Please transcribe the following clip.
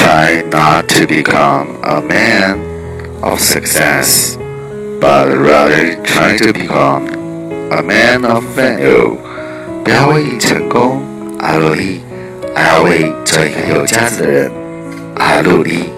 try not to become a man of success, but rather try to become a man of value。 不要为成功而努力，而要为做一个有价值的人而努力。